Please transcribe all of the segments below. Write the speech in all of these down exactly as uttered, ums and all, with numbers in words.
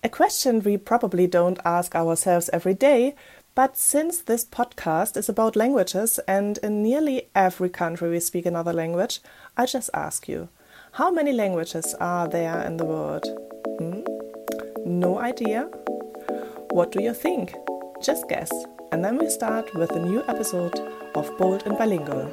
A question we probably don't ask ourselves every day, but since this podcast is about languages and in nearly every country we speak another language, I just ask you, how many languages are there in the world? Hmm? No idea? What do you think? Just guess, and then we start with a new episode of Bold and Bilingual.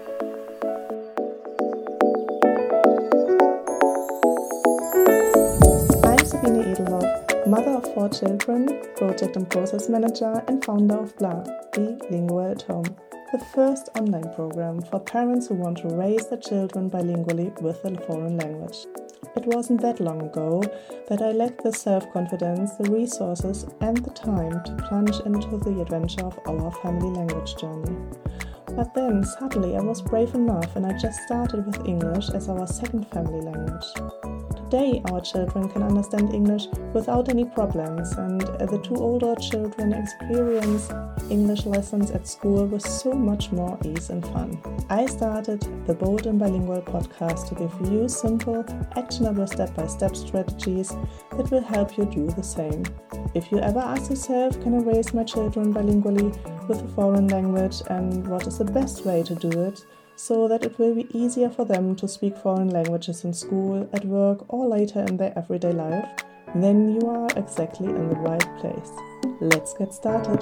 I'm Sabine Edelhoff, mother of four children, project and process manager, and founder of BLA, Bilingual at Home, the first online program for parents who want to raise their children bilingually with a foreign language. It wasn't that long ago that I lacked the self-confidence, the resources, and the time to plunge into the adventure of our family language journey. But then, suddenly, I was brave enough and I just started with English as our second family language. Today, our children can understand English without any problems, and the two older children experience English lessons at school with so much more ease and fun. I started the Bold and Bilingual podcast to give you simple, actionable step-by-step strategies that will help you do the same. If you ever ask yourself, can I raise my children bilingually with a foreign language, and what is the best way to do it, so that it will be easier for them to speak foreign languages in school, at work, or later in their everyday life, then you are exactly in the right place. Let's get started.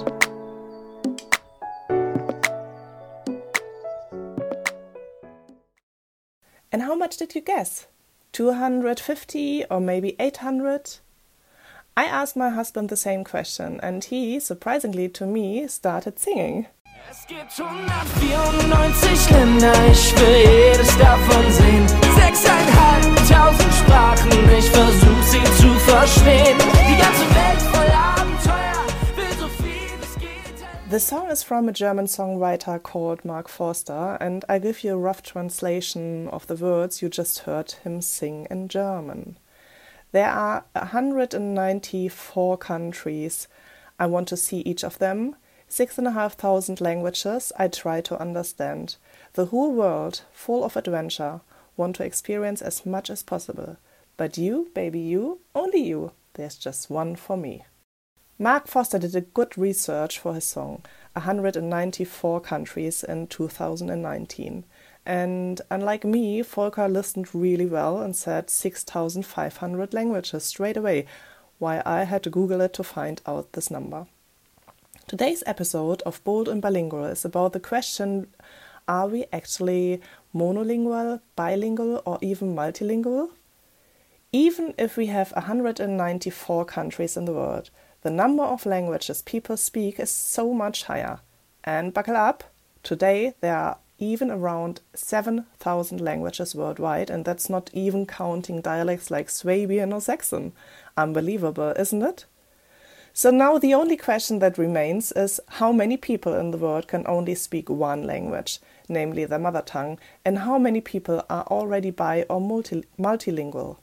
And how much did you guess? two hundred fifty or maybe eight hundred? I asked my husband the same question, and he, surprisingly to me, started singing. Es gibt hundertvierundneunzig Länder, ich will jedes davon sehen. Sechseinhalbtausend Sprachen, ich versuch sie zu verstehen. Die ganze Welt voller Abenteuer, will so viel es geht. The song is from a German songwriter called Mark Forster, and I give you a rough translation of the words you just heard him sing in German. There are one hundred ninety-four countries. I want to see each of them. Six and a half thousand languages I try to understand. The whole world, full of adventure, want to experience as much as possible. But you, baby you, only you, there's just one for me. Mark Forster did a good research for his song, one hundred ninety-four countries in two thousand nineteen. And unlike me, Volker listened really well and said six thousand five hundred languages straight away, while I had to Google it to find out this number. Today's episode of Bold and Bilingual is about the question, are we actually monolingual, bilingual, or even multilingual? Even if we have one hundred ninety-four countries in the world, the number of languages people speak is so much higher. And buckle up, today there are even around seven thousand languages worldwide, and that's not even counting dialects like Swabian or Saxon. Unbelievable, isn't it? So now the only question that remains is how many people in the world can only speak one language, namely their mother tongue, and how many people are already bi or multi- multilingual.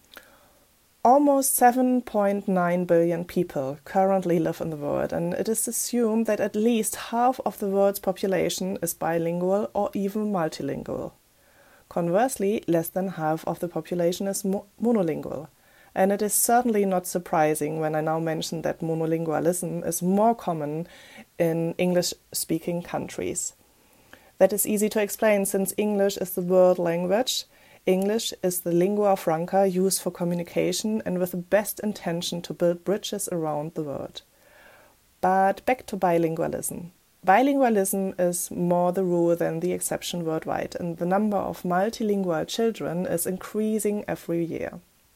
Almost seven point nine billion people currently live in the world, and it is assumed that at least half of the world's population is bilingual or even multilingual. Conversely, less than half of the population is mo- monolingual. And it is certainly not surprising when I now mention that monolingualism is more common in English-speaking countries. That is easy to explain since English is the world language. English is the lingua franca used for communication and with the best intention to build bridges around the world. But back to bilingualism. Bilingualism is more the rule than the exception worldwide, and the number of multilingual children is increasing every year.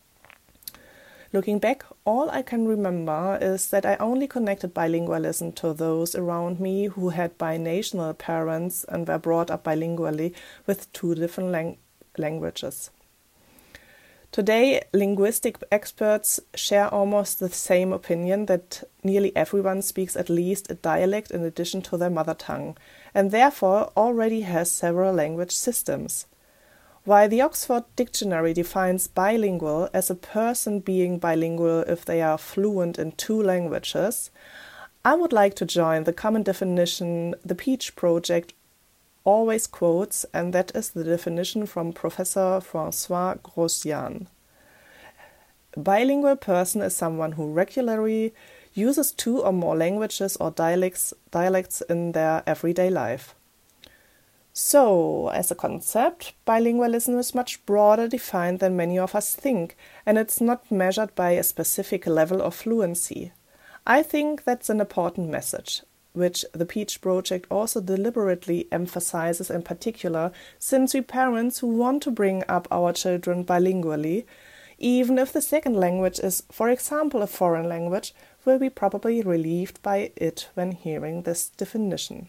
Looking back, all I can remember is that I only connected bilingualism to those around me who had binational parents and were brought up bilingually with two different lang- languages. Today, linguistic experts share almost the same opinion that nearly everyone speaks at least a dialect in addition to their mother tongue, and therefore already has several language systems. While the Oxford Dictionary defines bilingual as a person being bilingual if they are fluent in two languages, I would like to join the common definition the Peach Project always quotes, and that is the definition from Professor François Grosjean. A bilingual person is someone who regularly uses two or more languages or dialects, dialects in their everyday life. So, as a concept, bilingualism is much broader defined than many of us think, and it's not measured by a specific level of fluency. I think that's an important message, which the Peach Project also deliberately emphasizes in particular, since we parents who want to bring up our children bilingually, even if the second language is, for example, a foreign language, will be probably relieved by it when hearing this definition.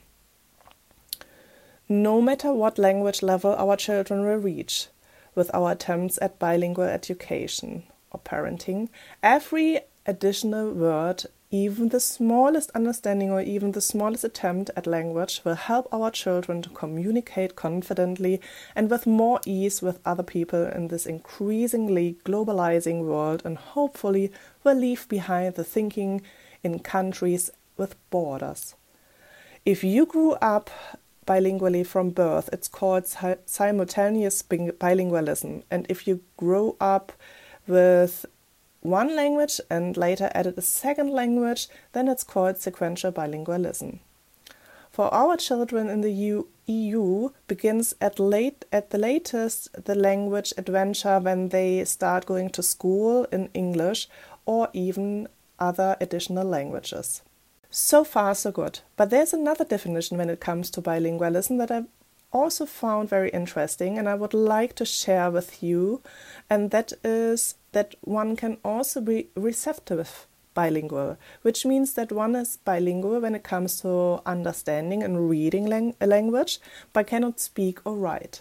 No matter what language level our children will reach, with our attempts at bilingual education or parenting, every additional word, even the smallest understanding or even the smallest attempt at language, will help our children to communicate confidently and with more ease with other people in this increasingly globalizing world, and hopefully will leave behind the thinking in countries with borders. If you grew up bilingually from birth, it's called simultaneous bilingualism, and if you grow up with one language and later added a second language, then it's called sequential bilingualism. For our children in the E U begins at late at the latest the language adventure when they start going to school in English or even other additional languages. So far, so good. But there's another definition when it comes to bilingualism that I've also found very interesting and I would like to share with you, and that is that one can also be receptive bilingual, which means that one is bilingual when it comes to understanding and reading lang- a language, but cannot speak or write.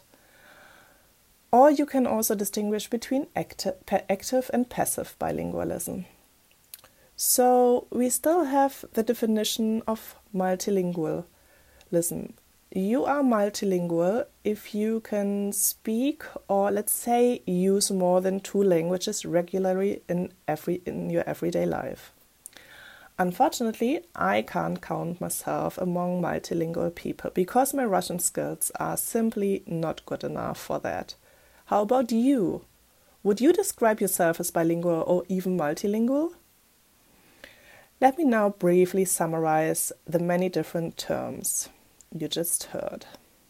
Or you can also distinguish between acti- active and passive bilingualism. So we still have the definition of multilingual. Listen, you are multilingual if you can speak or, let's say, use more than two languages regularly in every in your everyday life. Unfortunately, I can't count myself among multilingual people because my Russian skills are simply not good enough for that. How about you? Would you describe yourself as bilingual or even multilingual? Let me now briefly summarize the many different terms you just heard.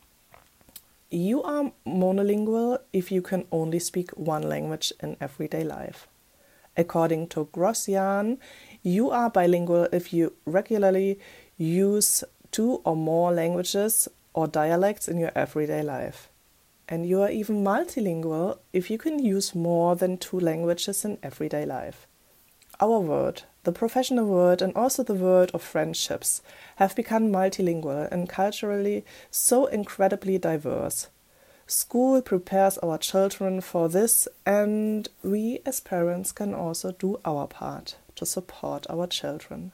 You are monolingual if you can only speak one language in everyday life. According to Grossian, you are bilingual if you regularly use two or more languages or dialects in your everyday life. And you are even multilingual if you can use more than two languages in everyday life. Our world, the professional world and also the world of friendships, have become multilingual and culturally so incredibly diverse. School prepares our children for this, and we as parents can also do our part to support our children.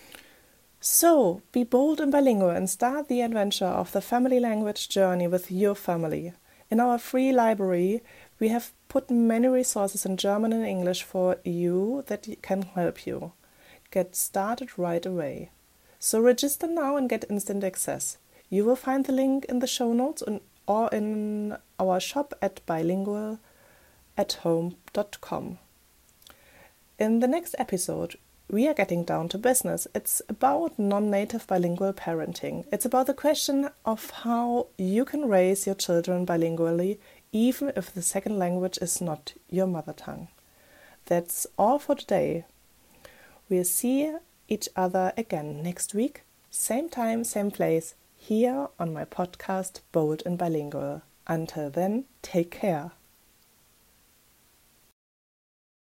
So, be bold and bilingual and start the adventure of the family language journey with your family. In our free library, we have put many resources in German and English for you that can help you. Get started right away. So register now and get instant access. You will find the link in the show notes or in our shop at bilingual at home dot com. In the next episode, we are getting down to business. It's about non-native bilingual parenting. It's about the question of how you can raise your children bilingually, even if the second language is not your mother tongue. That's all for today. We'll see each other again next week, same time, same place, here on my podcast, Bold and Bilingual. Until then, take care.